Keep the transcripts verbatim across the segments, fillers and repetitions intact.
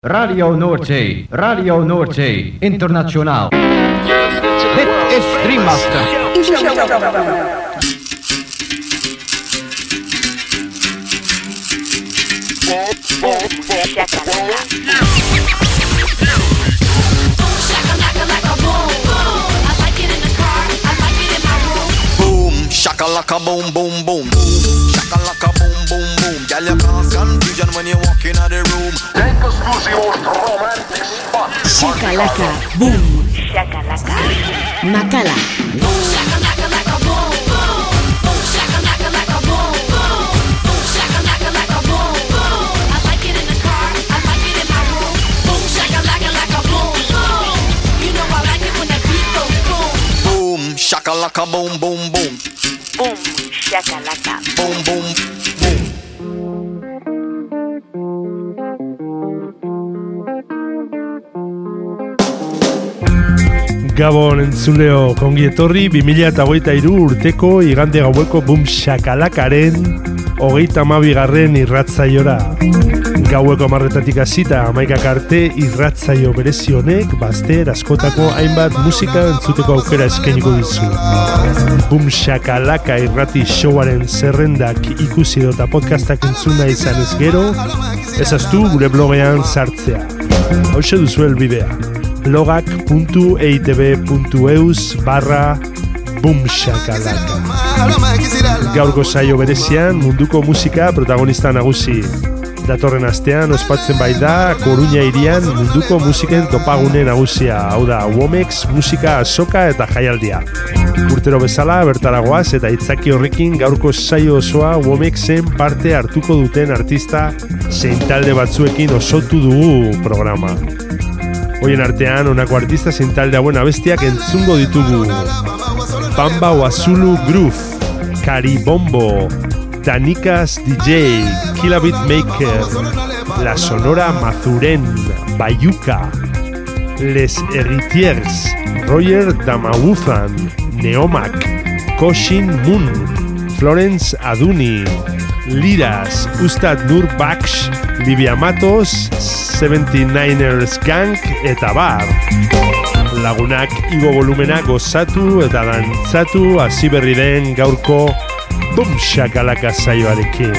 Radio Noordzee, Radio Noordzee, internationaal. Dit is Dreammaster. Shakalaka boom boom boom, shakalaka boom boom boom. Girl, you cause confusion when you walk in the room. Take us to the most romantic spot. Shakalaka boom, shakalaka, Makala. Boom shakalaka laka boom boom, boom shakalaka laka boom boom, boom shakalaka laka boom boom. I like it in the car, I like it in my room. Boom shakalaka laka boom boom. You know I like it when the beat goes boom. Boom shakalaka boom boom boom. Boom, shakalaka. Boom, boom, boom. Gabon entzuleo kongi etorri bi mila hogeita hiru urteko igande gaueko Boom Shakalakaren hogeita hamabigarren irratzaiora. Gaueko hamarretatik hasita hamaikak arte irratzaio berezi honek bazter askotako hainbat musika entzuteko aukera eskainiko dizu. Boom Shakalaka irrati showaren zerrendak ikusi eta podcastak entzuna izan ez gero, ezaztu gure blogean sartzea. Hauxe duzu helbidea. blogak puntu eitb puntu eus barra Boom Shakalaka. Gaurko saio berezian munduko musika protagonista nagusi. Datorren astean ospatzen bai da Koruña hirian munduko musiken topagune nagusia, hau da Womex musika azoka eta jaialdia. Urtero bezala bertaragoaz eta itzaki horrekin gaurko saio osoa Womexen parte hartuko duten artista zein talde batzuekin osotu dugu programa. Hoien artean, honako artista zein talde hauen abestiak entzungo ditugu. Bamba Wazulu Groove, Caribombo, Danikas D J, Kilabit Maker, La Sonora Mazuren, Bayuca, Les Heritiers, Roger Damawuzan, Neomak, Koshin Moon, Florence Aduni, Liras, Ustad Nur Baksh, Livia Matos, seventy-niners Gang eta bar. Lagunak igo volumena gozatu eta dantzatu hasi berri den gaurko Boom Shakalaka saioarekin.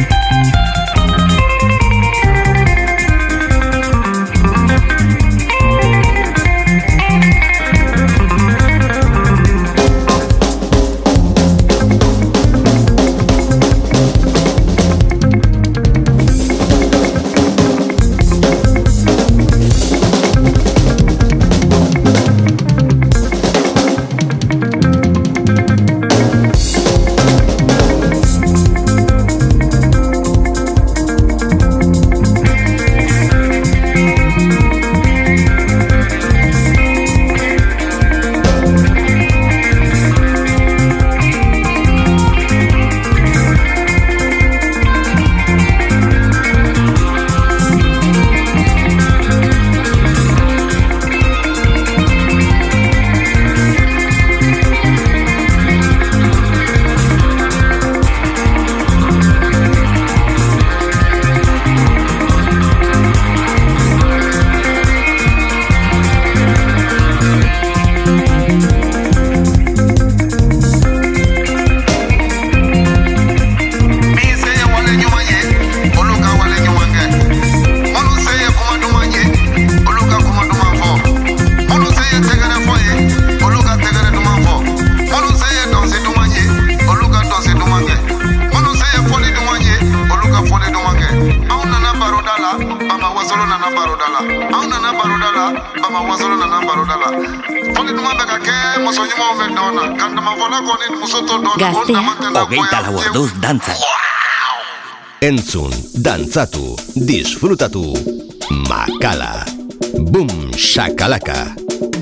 Hogeita lau orduz dantzan. Entzun, dantzatu, disfrutatu. Makala. Boom Shakalaka.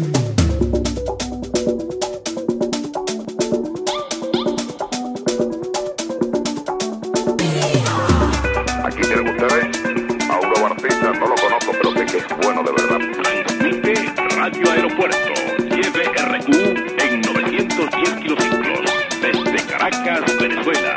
Aquí tienen ustedes a un nuevo artista, no lo conozco, pero sé que es bueno de verdad. Transmite Radio Aeropuerto Y B R U en novecientos diez kilociclos desde Caracas, Venezuela.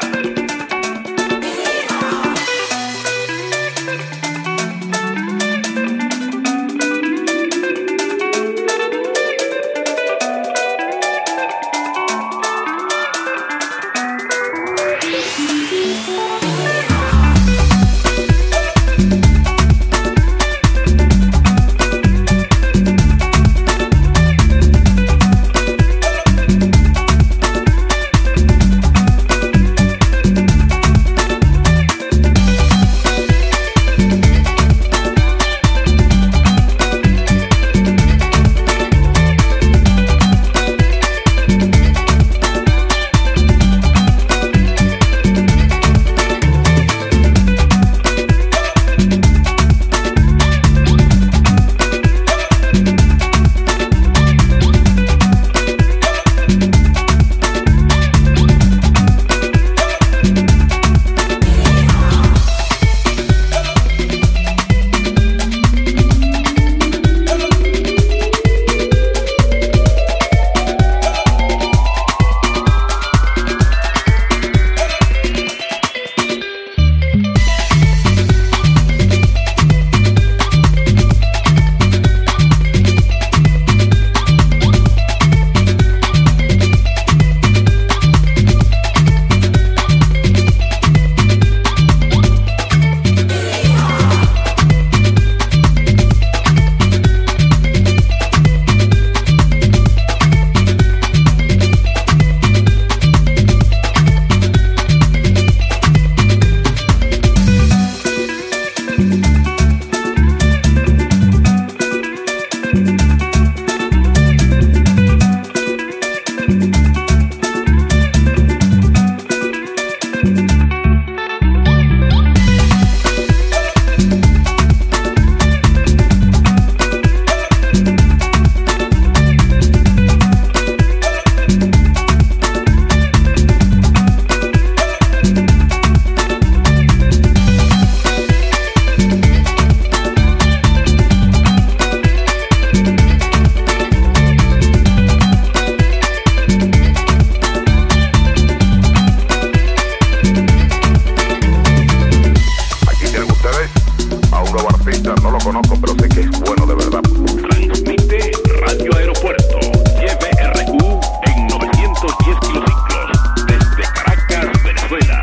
conozco, pero sé que es bueno de verdad. Transmite Radio Aeropuerto, Y V R U en novecientos diez kilociclos, desde Caracas, Venezuela.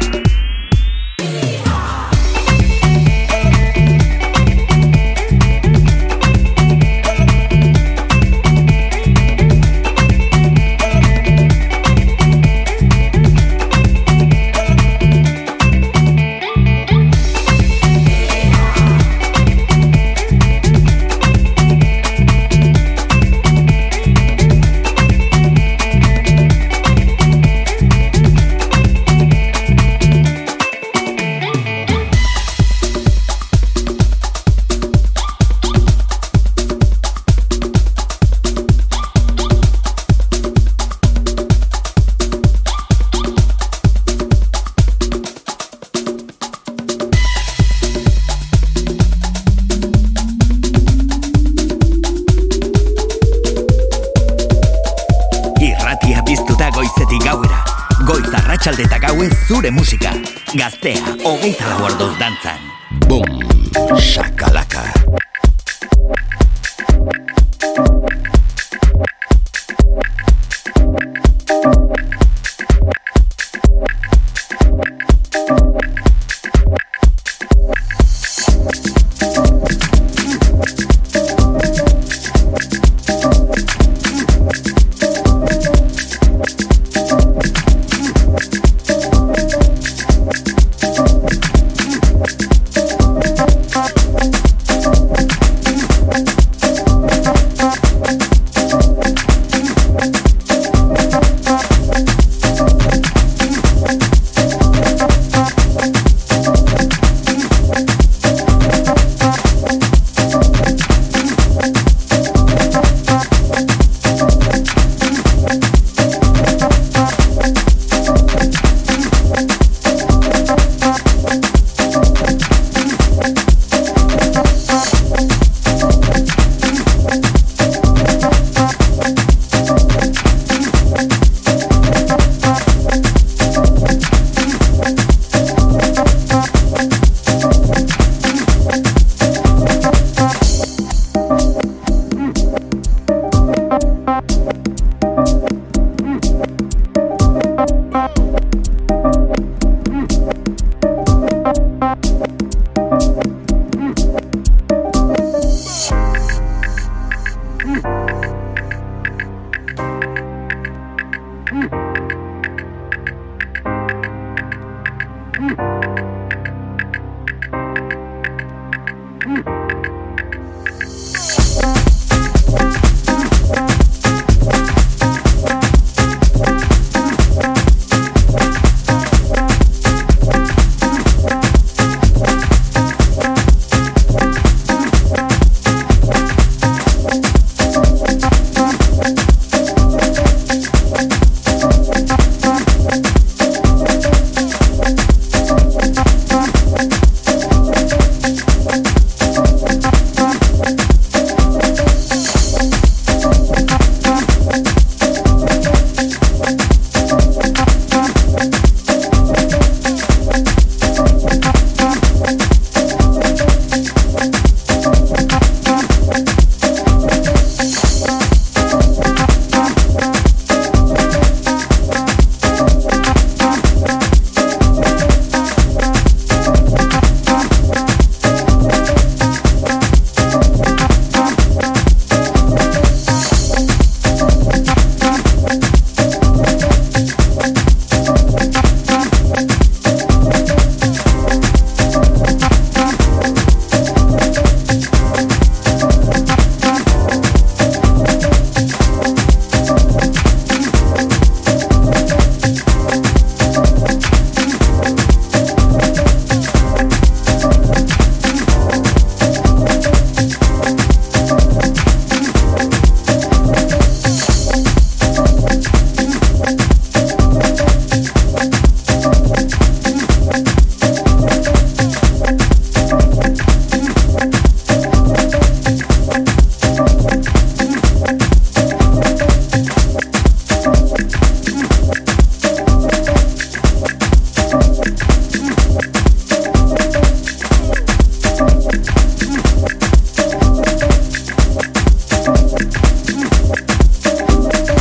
Arratsalde eta gauez zure musika. Gaztea, hogeita lau orduz dantzan. Boom, shakalaka.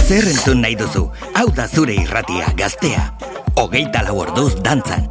Zer entzun nahi duzu, hau da zure irratia, Gaztea. Hogeita lau orduz dantzan.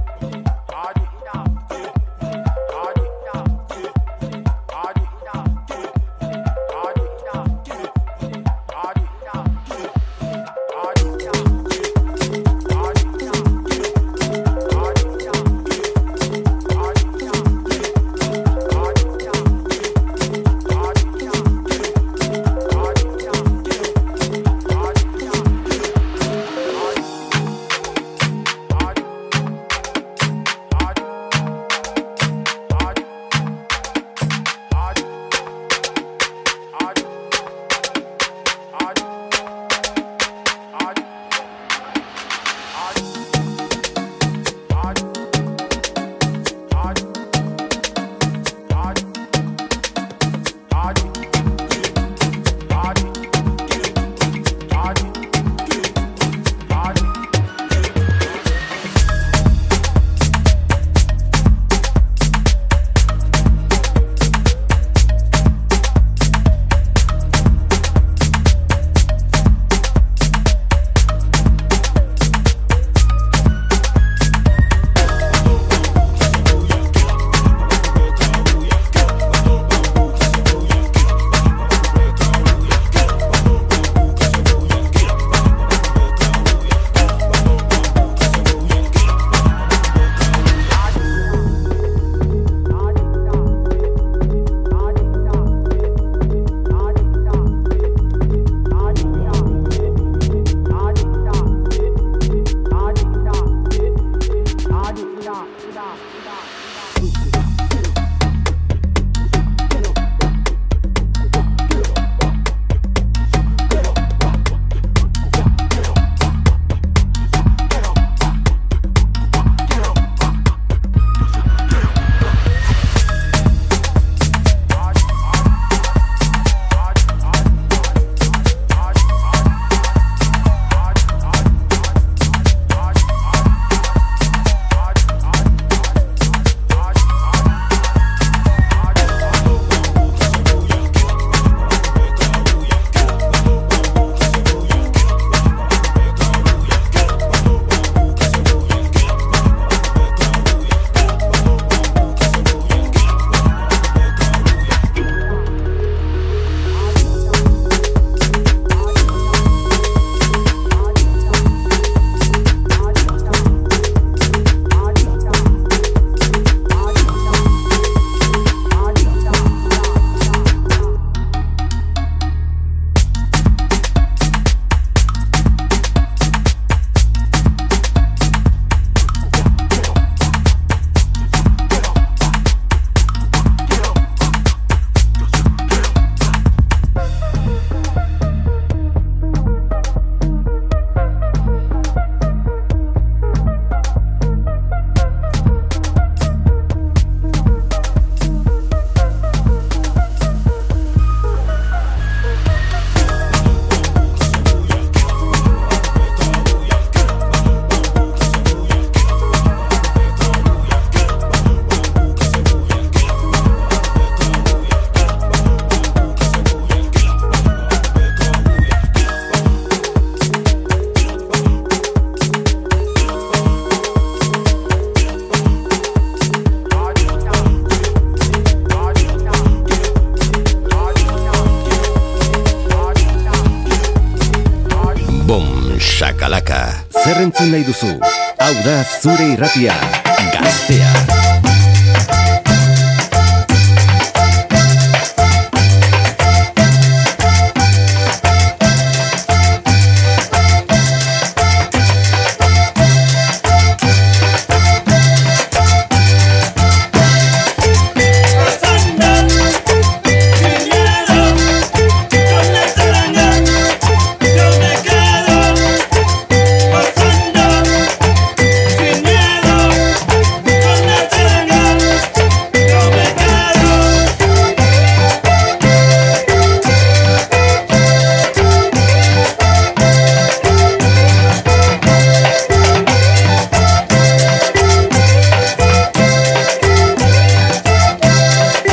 Shakalaka. Zer entzun nahi duzu? Hau da zure irratia, Gaztea.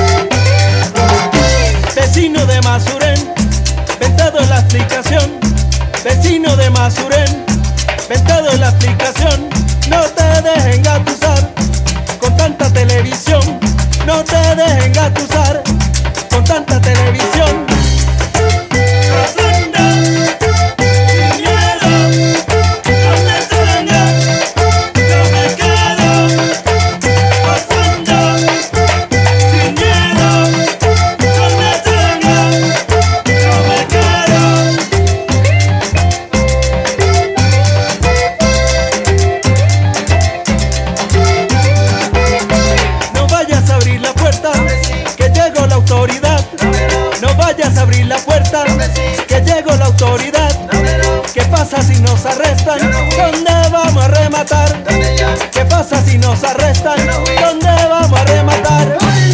Vecino de Masuren, ventado en la explicación, vecino de Masurén, ven te doy la explicación, no te dejes engatusar con tanta televisión, no te dejes engatusar con tanta televisión. Abrir la puerta, que llegó la autoridad. ¿Qué pasa si nos arrestan? ¿Dónde vamos a rematar? ¿Qué pasa si nos arrestan? ¿Dónde vamos a rematar?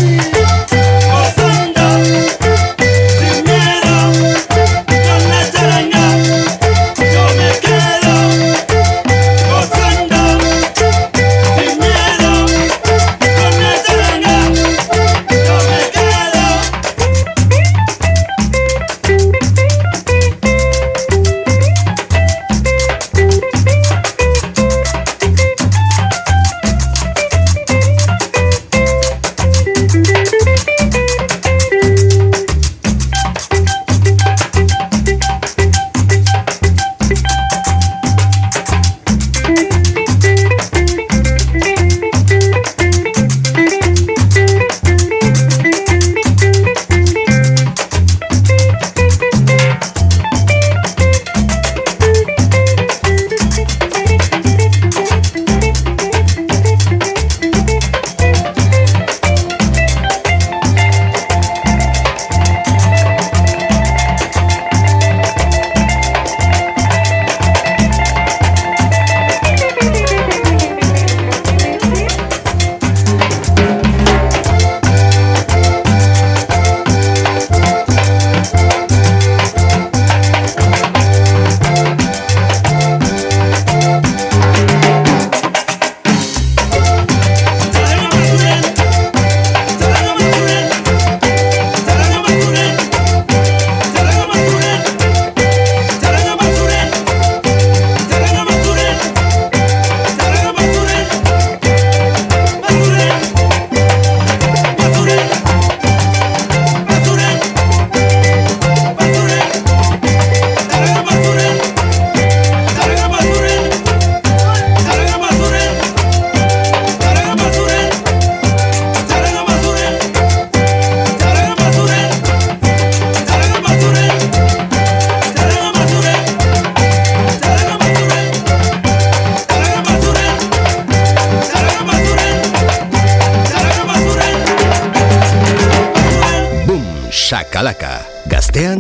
Shakalaka, gaztean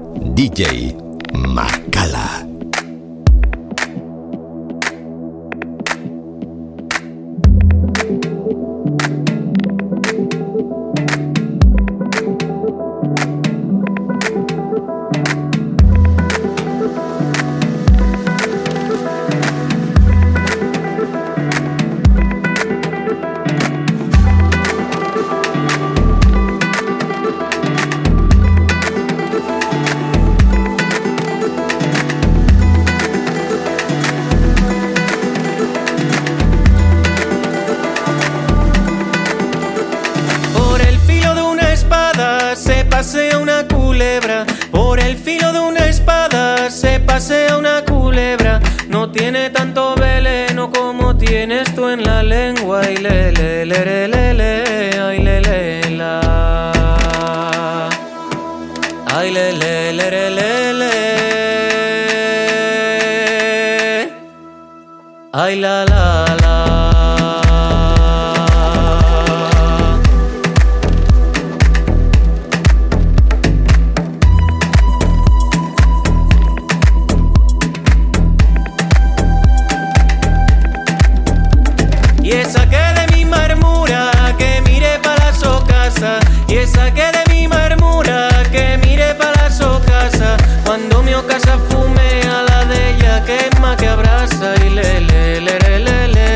D J Makala. pasea una culebra, por el filo de una espada se pasea una culebra. No tiene tanto veneno como tienes tú en la lengua. Ay, le, le, le, le, le, le, ay, le, le, la. Ay, le, le, le, le, le, le. Ay, la, la, la. Y esa que de mi marmura que mire para su casa. Cuando mi casa fume a la de ella quema que abraza. Y le le le le le le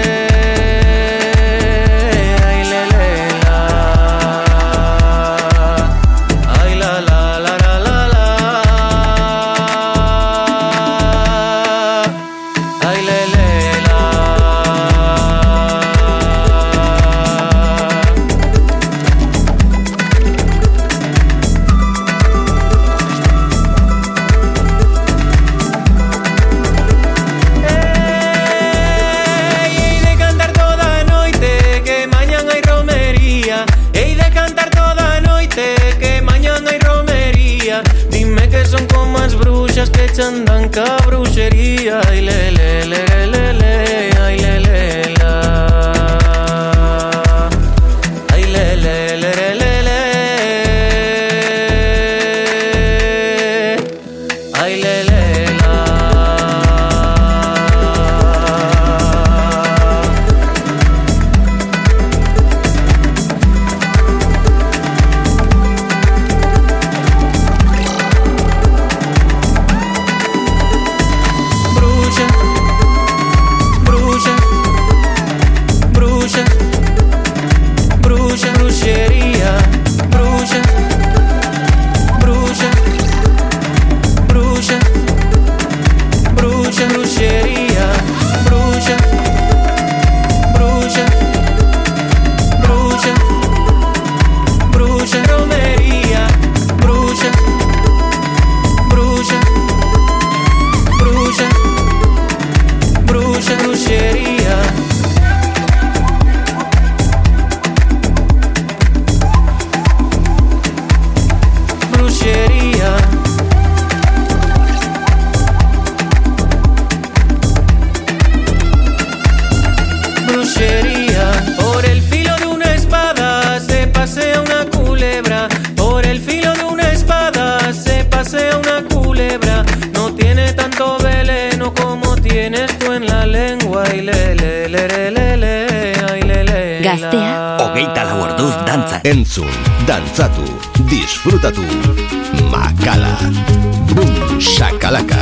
practica brujería. Ay, le, le, le, le, le, ay, le, le, la. Ay, le, le, le, le, le, le. Ay, le, le, la. Entzun, dantzatu, disfrutatu. Makala. Boom, shakalaka.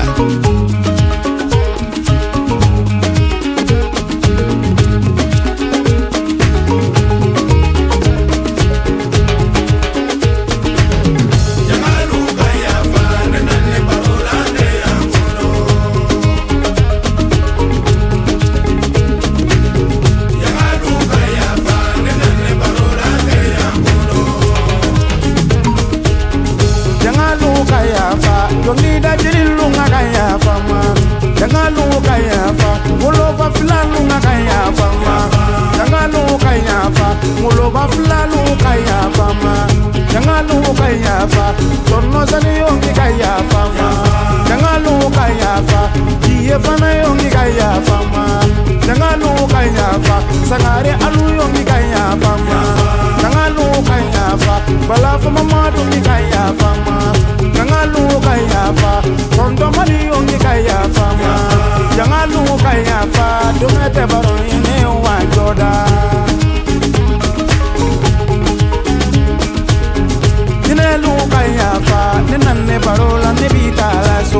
Sangare alu yongi kaya fama, jangalu kaya fa, bala fama madu mi kaya fama, jangalu kaya fa, kondo mali yongi kaya fama, jangalu kaya fa, dumete baro ine wanjoda. Jinelu kaya fa, ninane barola nebita la so.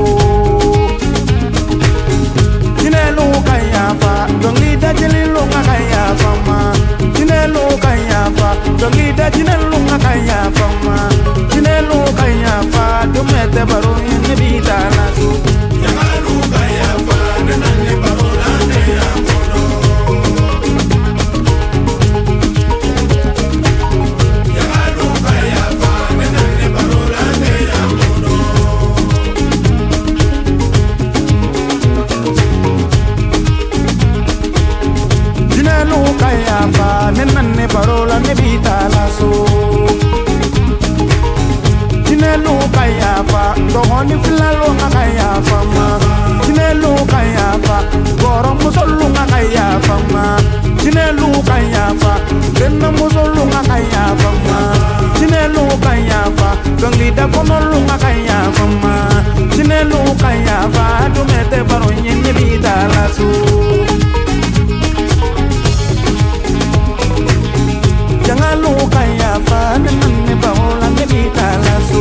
Jinelu kaya fa, dongi da jelilu kaya fama. Jinelu kaya fa, dongi da jinelu kaya fama. Jinelu kaya fa, dumete baro ine bita la so. Jangalu kaya fa, ninane barola ne amono. Jangalu kaya fa, ninane barola ne amono. Jinelu kaya fa, ninane barola ne bita la so. Jinelu kaya fa, dohoni filalo kaya fama. Jinelu kaya fa, goro musolu kaya fama. Jinelu kaya fa, denna musolu kaya fama. Jinelu kaya fa, gangida konolu kaya fama. Jinelu kaya fa, dumete baro nyene bita la so. Jangalu kaya fa, ninane barola ne bita la so.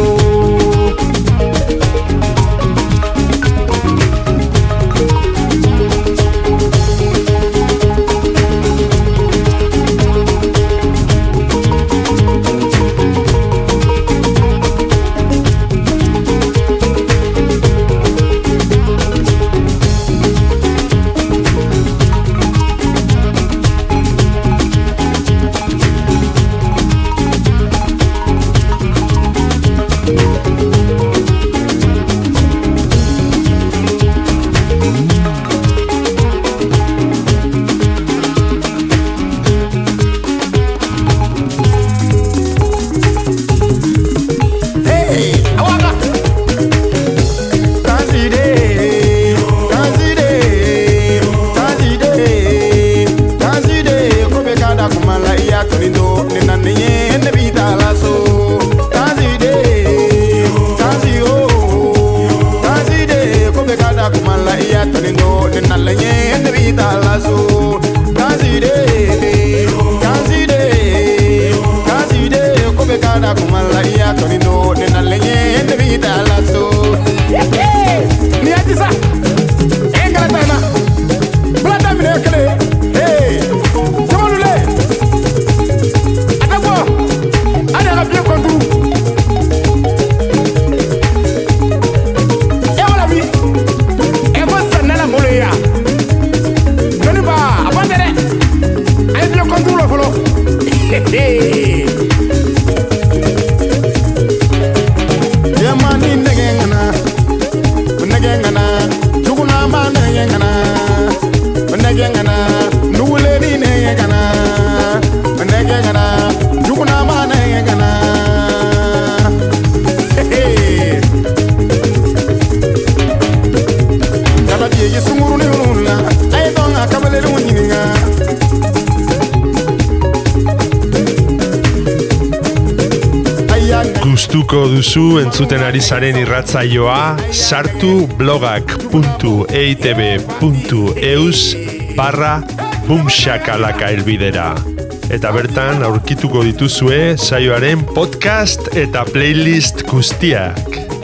gustuko duzu entzuten ari zaren irratzaioa, sartu blogak puntu eitb puntu eus barra bumshakalaka elbidera. Eta bertan aurkituko dituzue saioaren podcast eta playlist guztiak.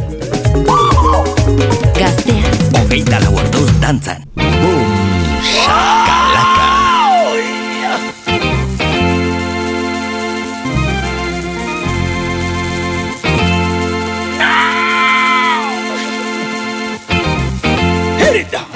Gaztea, hogeita lau orduz dantzan. Bumshakalaka. Hit it down.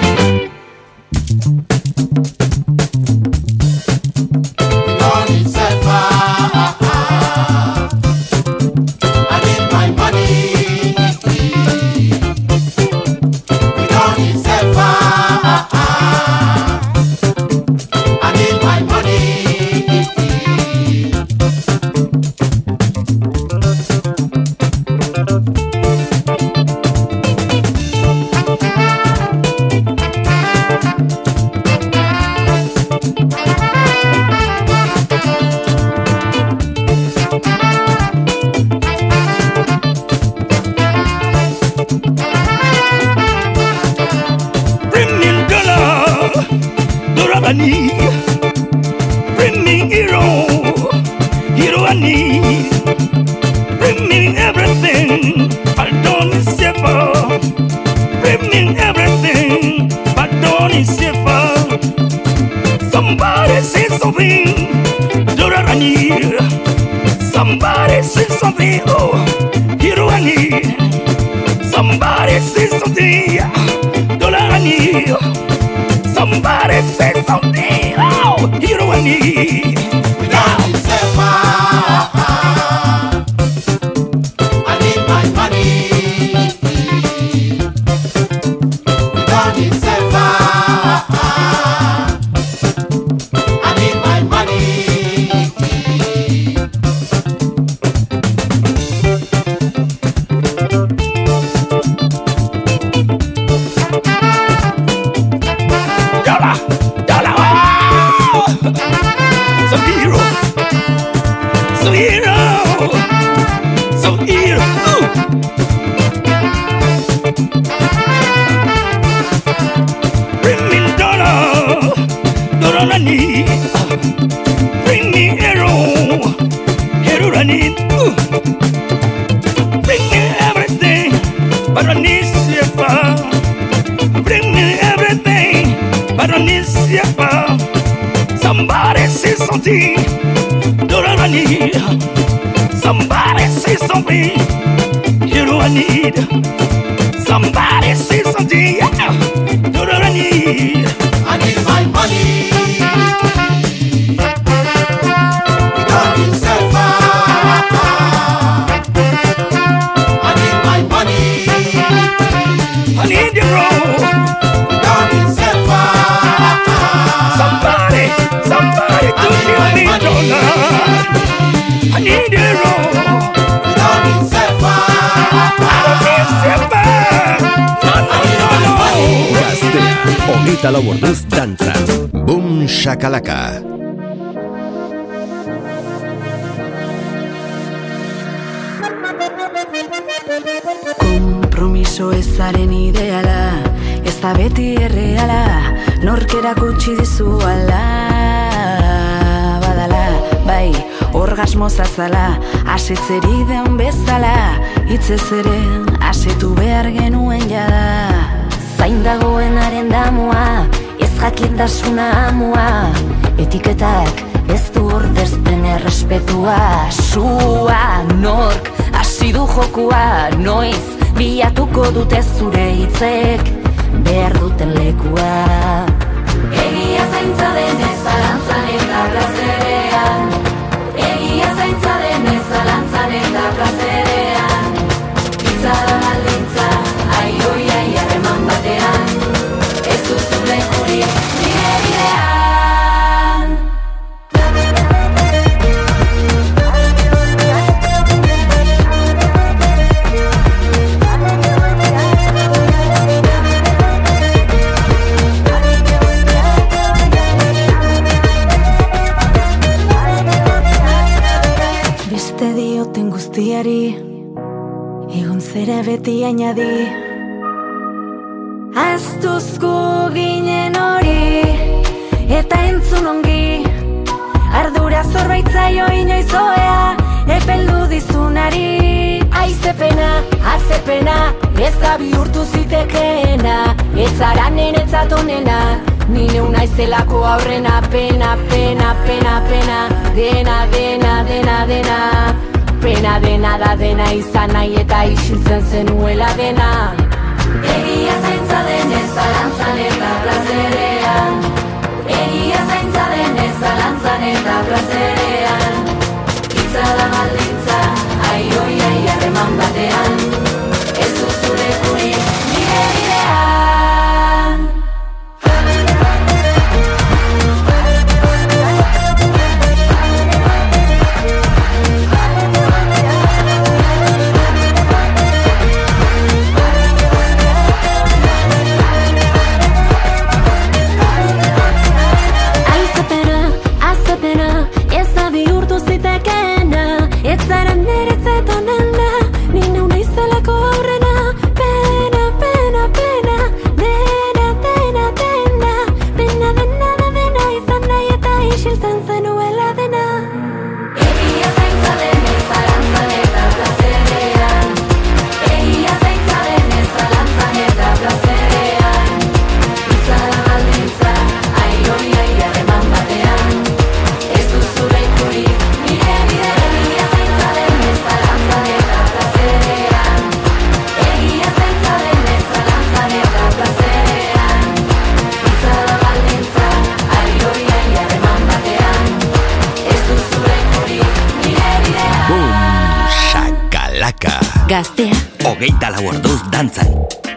Bring me hero, hero I need. Bring me everything, but don't suffer. Bring me everything, but don't suffer. Somebody say something, hero I need. Somebody say something, oh, hero I need. Somebody say something, hero I need. Somebody say something, oh, hero I need. We don't deserve I need my money. We don't deserve I need my money. Bring me hero, hero I need. Bring me everything, but I need silver. Bring me everything, but I need silver. Somebody say something, hero I need. Somebody say something, hero I need. Somebody say something, yeah, hero I need. I need my money. I need your roll. Somebody, somebody to give me dollar. I need your roll. I don't need silver. No, no, no, no. Gaztea, hogeita lau orduz dantzan. Bumshakalaka. Kompromiso ezaren ideala, ez da beti erreala, nork erakutsi dizu ala. Badala, bai, orgasmo zazala, asetzeri den bezala, hitzez ere asetu behar genuen jada. Zain dagoenaren damua, ez jakindasuna amua, etiketak ez du ordezten errespetua. Sua, nork, hasi du jokua, noiz, bilatuko dute zure hitzek behar duten lekua. Egia zaintza denez zalantzan eta plazerean, egia zaintza denez zalantzan eta plazerean, hitza da baldintza, ai oi ai harreman batean, ez duzu lekurik nire bidean. Guztiari egon zera beti añadi. Aztuzko ginen hori, eta entzun ongi, ardura zorbaitzaio inoizoea, epeldu dizunari. Aizepena, azepena, ez da bihurtu zitekeena, ez zara nenetzat onena, nine unaizelako aurrena. Pena, pena, pena, pena, dena, dena, dena, dena, pena dena da dena izan nahi eta isiltzen zenuela dena. Egia zaintza denez zalantzan eta plazerean, egia zaintza denez zalantzan eta plazerean, itza da baldintza, ai oi ai harreman batean, ez duzure guri nire bidean. Gaztea, hogeita lau orduz dantzan.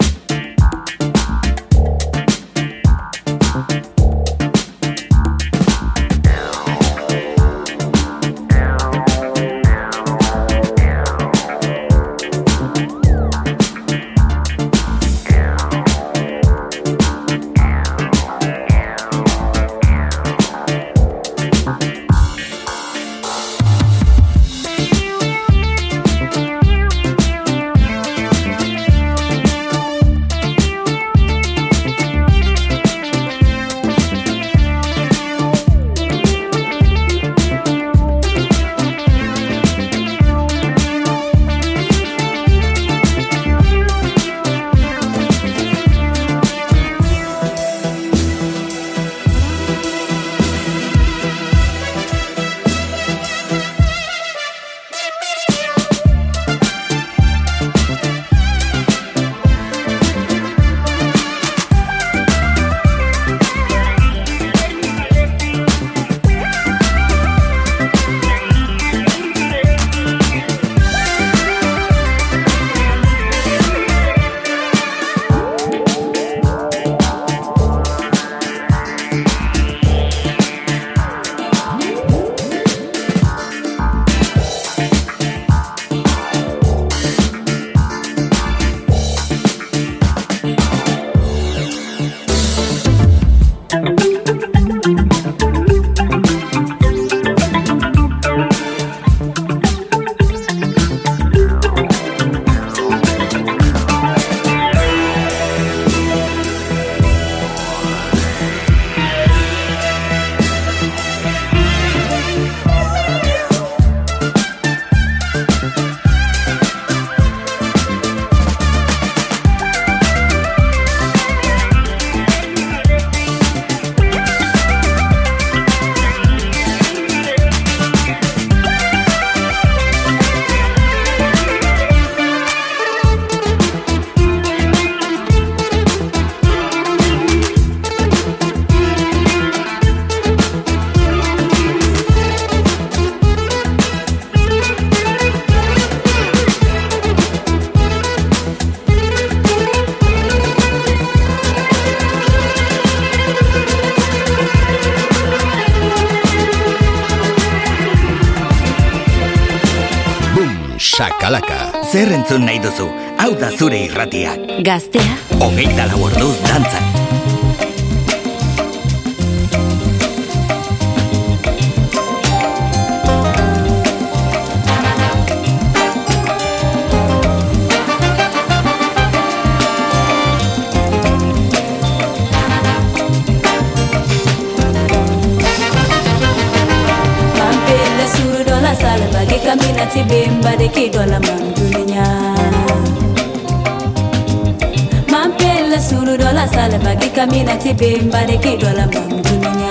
Shakalaka. Zer entzun nahi duzu? Hau da zure irratiak. Gaztea, hogeita lau orduz dantzan. bemba de kidola mandunya. Mampela suru dola sale bagi kamina ti bemba de kidola mandunya.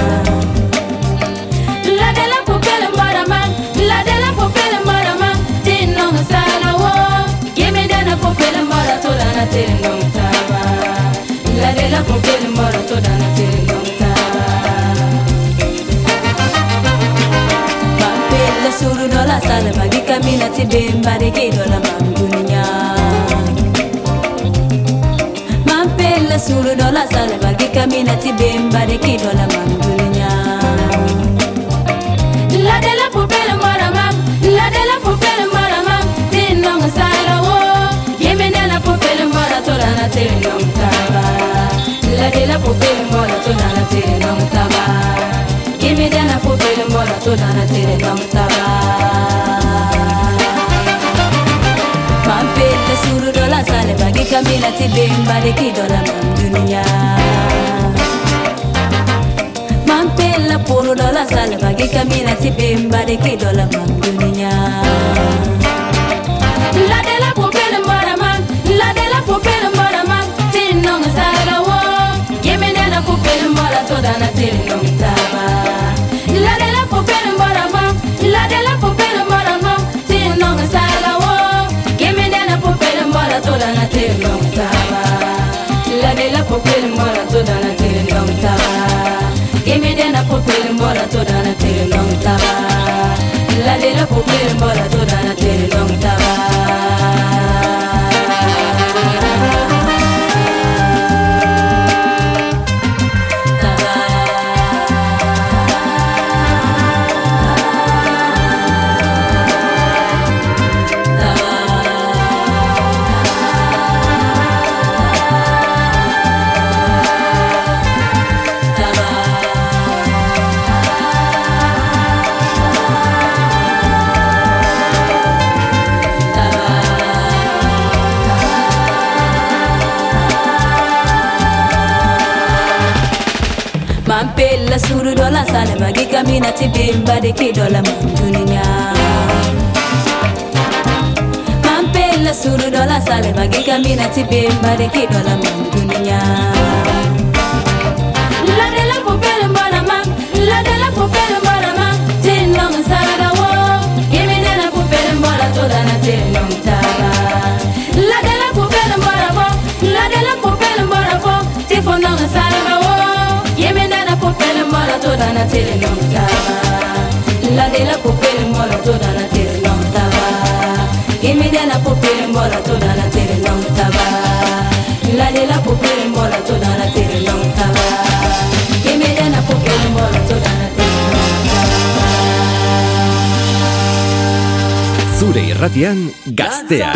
La de la popela maraman, la de la popela maraman, tinno sala wo. Gimme dana popela mara tola na tinno taba. La de la popela mara tola na tinno taba. Mampela suru dola sale bagi kamina ti bemba de kidola mandunya. Mampela suru dola sale bagi kamina ti bemba de kidola mandunya. La de la popela marama, la de la popela marama, tinong sala wo. Yeme na la popela mara tola na tinong taba. La de la popela mara tola na tinong taba. Yeme na la popela mara tola na tinong taba. Mampela suru dola sale bagi kamina ti bemba de kidola mandunya. Mampela puro dola sale bagi kamina ti bemba de kidola mandunya. La de la popela marama, la de la popela marama, tinong sala wo. Yeme na la popela mara toda na tinong taba. La de la popela marama, la de la popela marama, tinong sala wo. Yeme na la popela mara toda na tinong taba. La de la popela mara toda na tinong taba. Gimme dena popel mbola toda na tere long taba. La de la popel mbola toda na tere long taba. Mampela suru dola sale bagi kamina ti bemba de kidola mandunya. Mampela suru dola sale bagi kamina ti bemba de kidola mandunya. La de la popela marama, la de la popela marama, tinong sala wo. Gimme na la popela mara toda na tinong taba. La de la popela marama, la de la popela marama, tifonong sala wo. Yeme na la popela mara toda na tere long taba. La de la popela mara toda na tere long taba. Yeme na la popela mara toda na tere long taba. La de la popela mara toda na tere long taba. Yeme na la popela mara toda na tere long taba. Zure irratian Gaztea.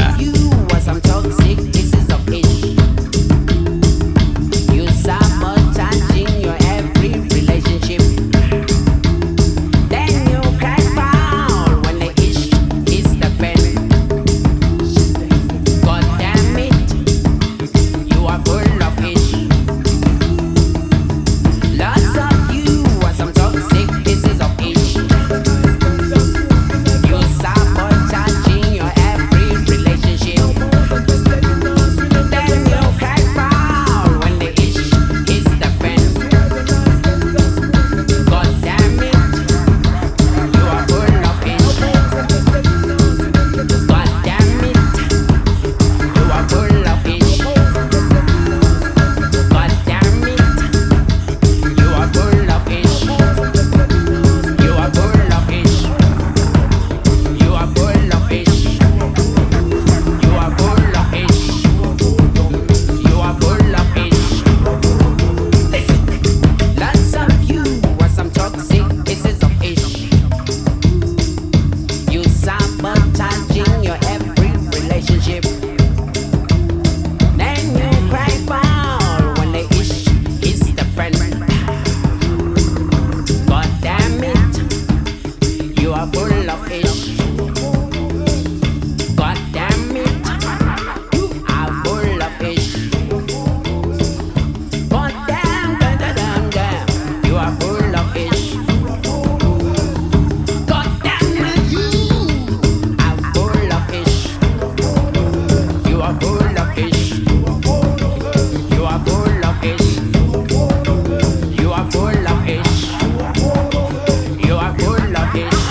are full of fish. You are full of fish. You are full of fish. You are full of fish.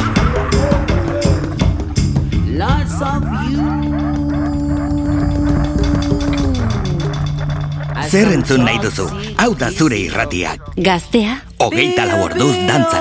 Lots of you. Zer entzun nahi duzu? Hau da zure irratiak. Gaztea. Hogeita lau orduz dantzan.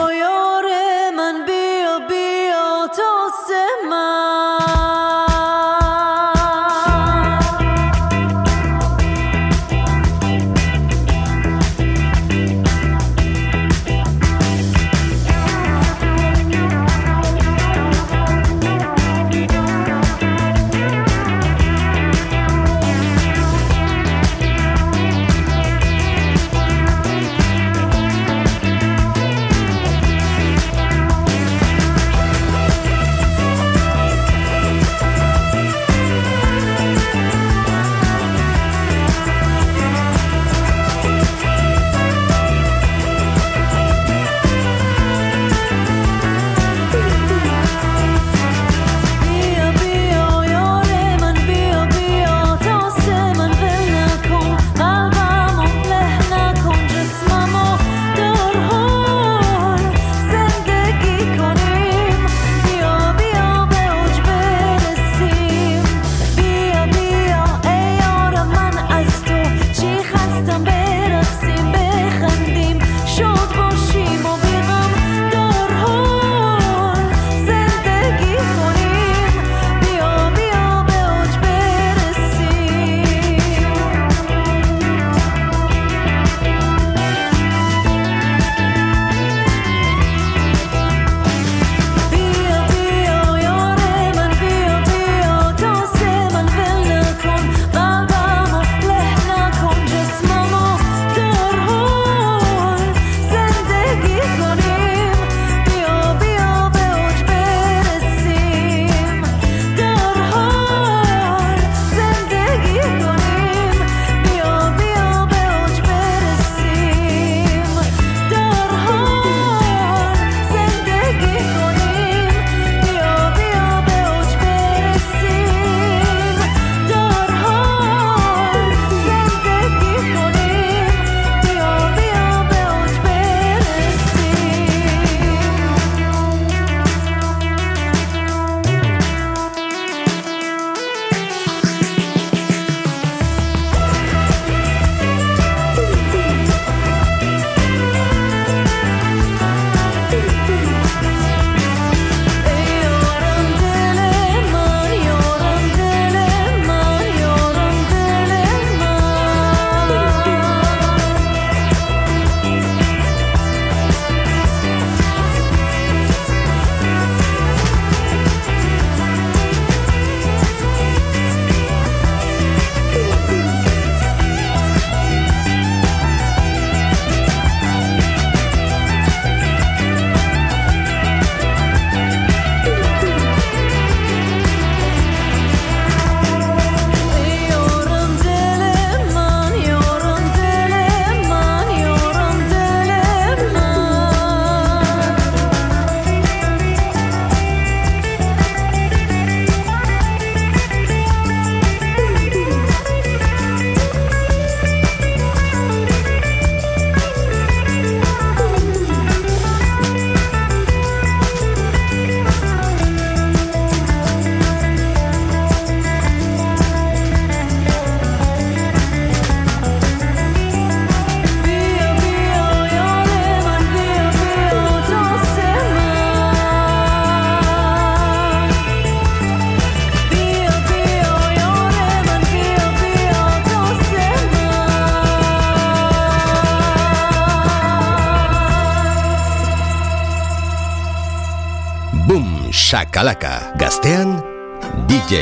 Shakalaka, gaztean D J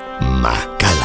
Makala.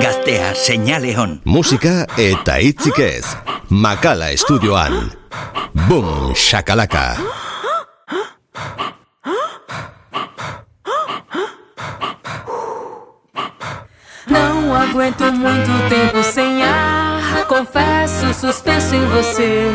Gaztea seinale on. Musika eta hitzik ez. Makala estudioan. Boom shakalaka. Não aguento muito tempo sem ar. Confesso, suspenso em você.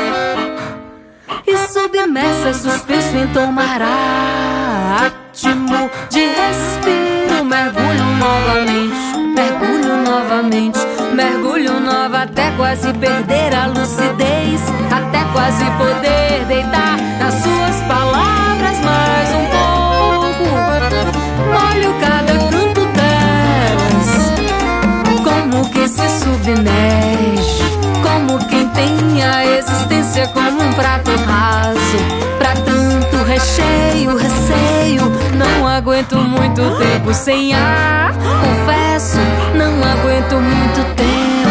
E submersa, suspenso em tomar ar. Ritmo de respiro. Mergulho novamente, mergulho novamente. Mergulho nova até quase perder a lucidez. Até quase poder deitar nas suas palavras mais um pouco. Molho cada canto delas, como quem se submerge, como quem tem a existência como um prato raso. Pra tanto recheio, receio, não aguento muito tempo sem ar. Confesso, não aguento muito tempo.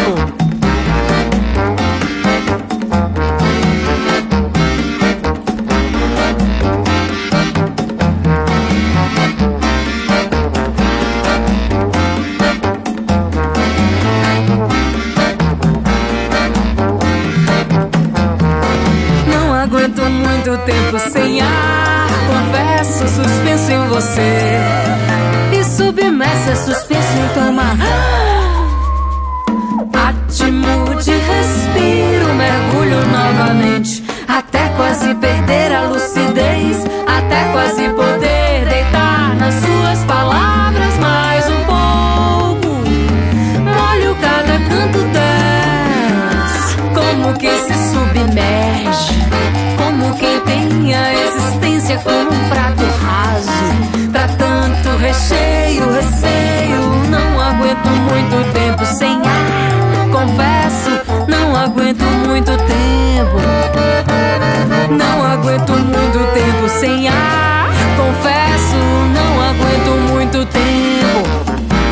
Não aguento muito tempo sem ar. Confesso, suspenso em você. E submersa, suspenso em tomar ritmo de respiro. Mergulho novamente até quase perder a lucidez. Até quase poder deitar nas suas palavras mais um pouco. Molho cada canto delas, como quem se submerge, como quem tem a existência como um prato raso. Pra tanto recheio, receio, não aguento muito tempo sem ar. Confesso, não aguento muito tempo. Não aguento muito tempo sem ar. Confesso, não aguento muito tempo.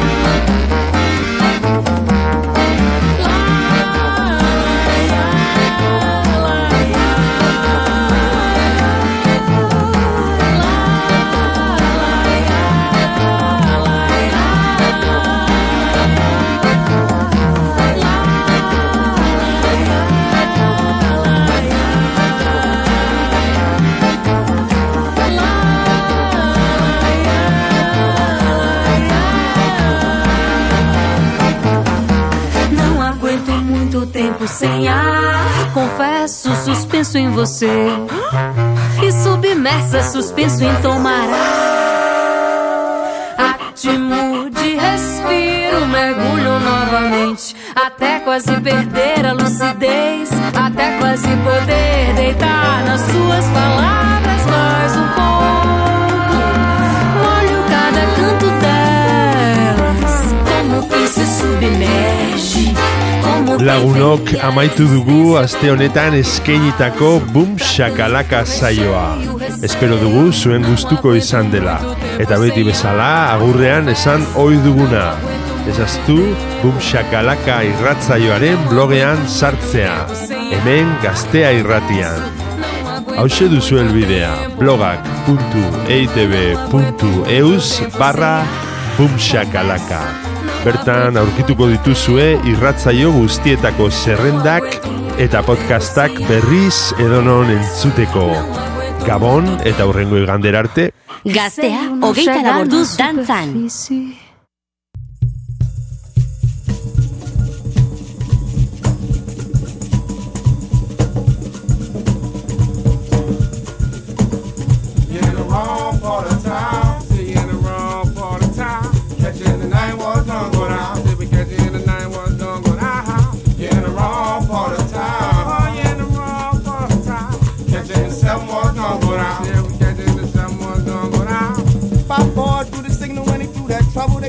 Sem ar, confesso, suspenso em você. E submersa, suspenso em tomar ar. Ritmo de respiro, mergulho novamente até quase perder a lucidez. Até quase poder deitar nas suas palavras mais um pouco. Molho cada canto delas, como quem se submerge. Lagunok amaitu dugu aste honetan eskainitako Boom Shakalaka saioa. Espero dugu zuen gustuko izan dela. Eta beti bezala agurrean esan ohi duguna. Ezaztu Boom Shakalaka irratzaioaren blogean sartzea. Hemen Gaztea irratian. Hauxe duzu elbidea blogak puntu eitb puntu eus barra Boom Shakalaka. Bertan aurkituko dituzue irratzaio guztietako zerrendak eta podcastak berriz edonon entzuteko. Gabon eta hurrengo igandera arte. Gaztea hogeita laborduz dantzan. Trouble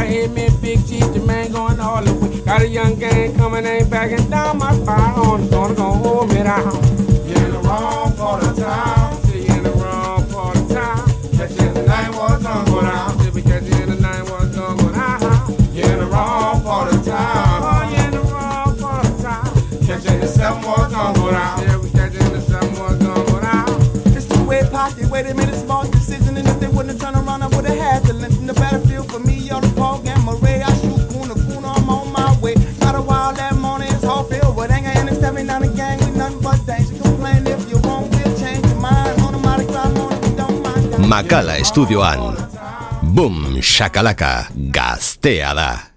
hit me, big G, the man going all the way. Got a young gang coming, ain't backing down my fire on. Gonna go hold me down. You're in the wrong part of town. See you in the wrong part of town. Catch you in the night, what's gonna go down? See we catch you in the night, what's gonna go down? You're in the wrong part of town. Oh, you're in the wrong part of town. Catch you in the seven, what's gonna go down? Yeah, we catch you in the seven, what's gonna go down? It's two-way pocket, wait a minute, small decision. And if they wouldn't have turned around, I would've had to lengthen the battlefield for me, on the Paul Gamma Ray. I shoot Kuna Kuna, I'm on my way. Got a while that morning, it's all filled with anger. And it's stepping down the gang with nothing but danger. Complain if you won't, we'll change your mind. On the mighty crowd, on it, we don't mind. Makala Estudioan. Boom, shakalaka, gaztea da.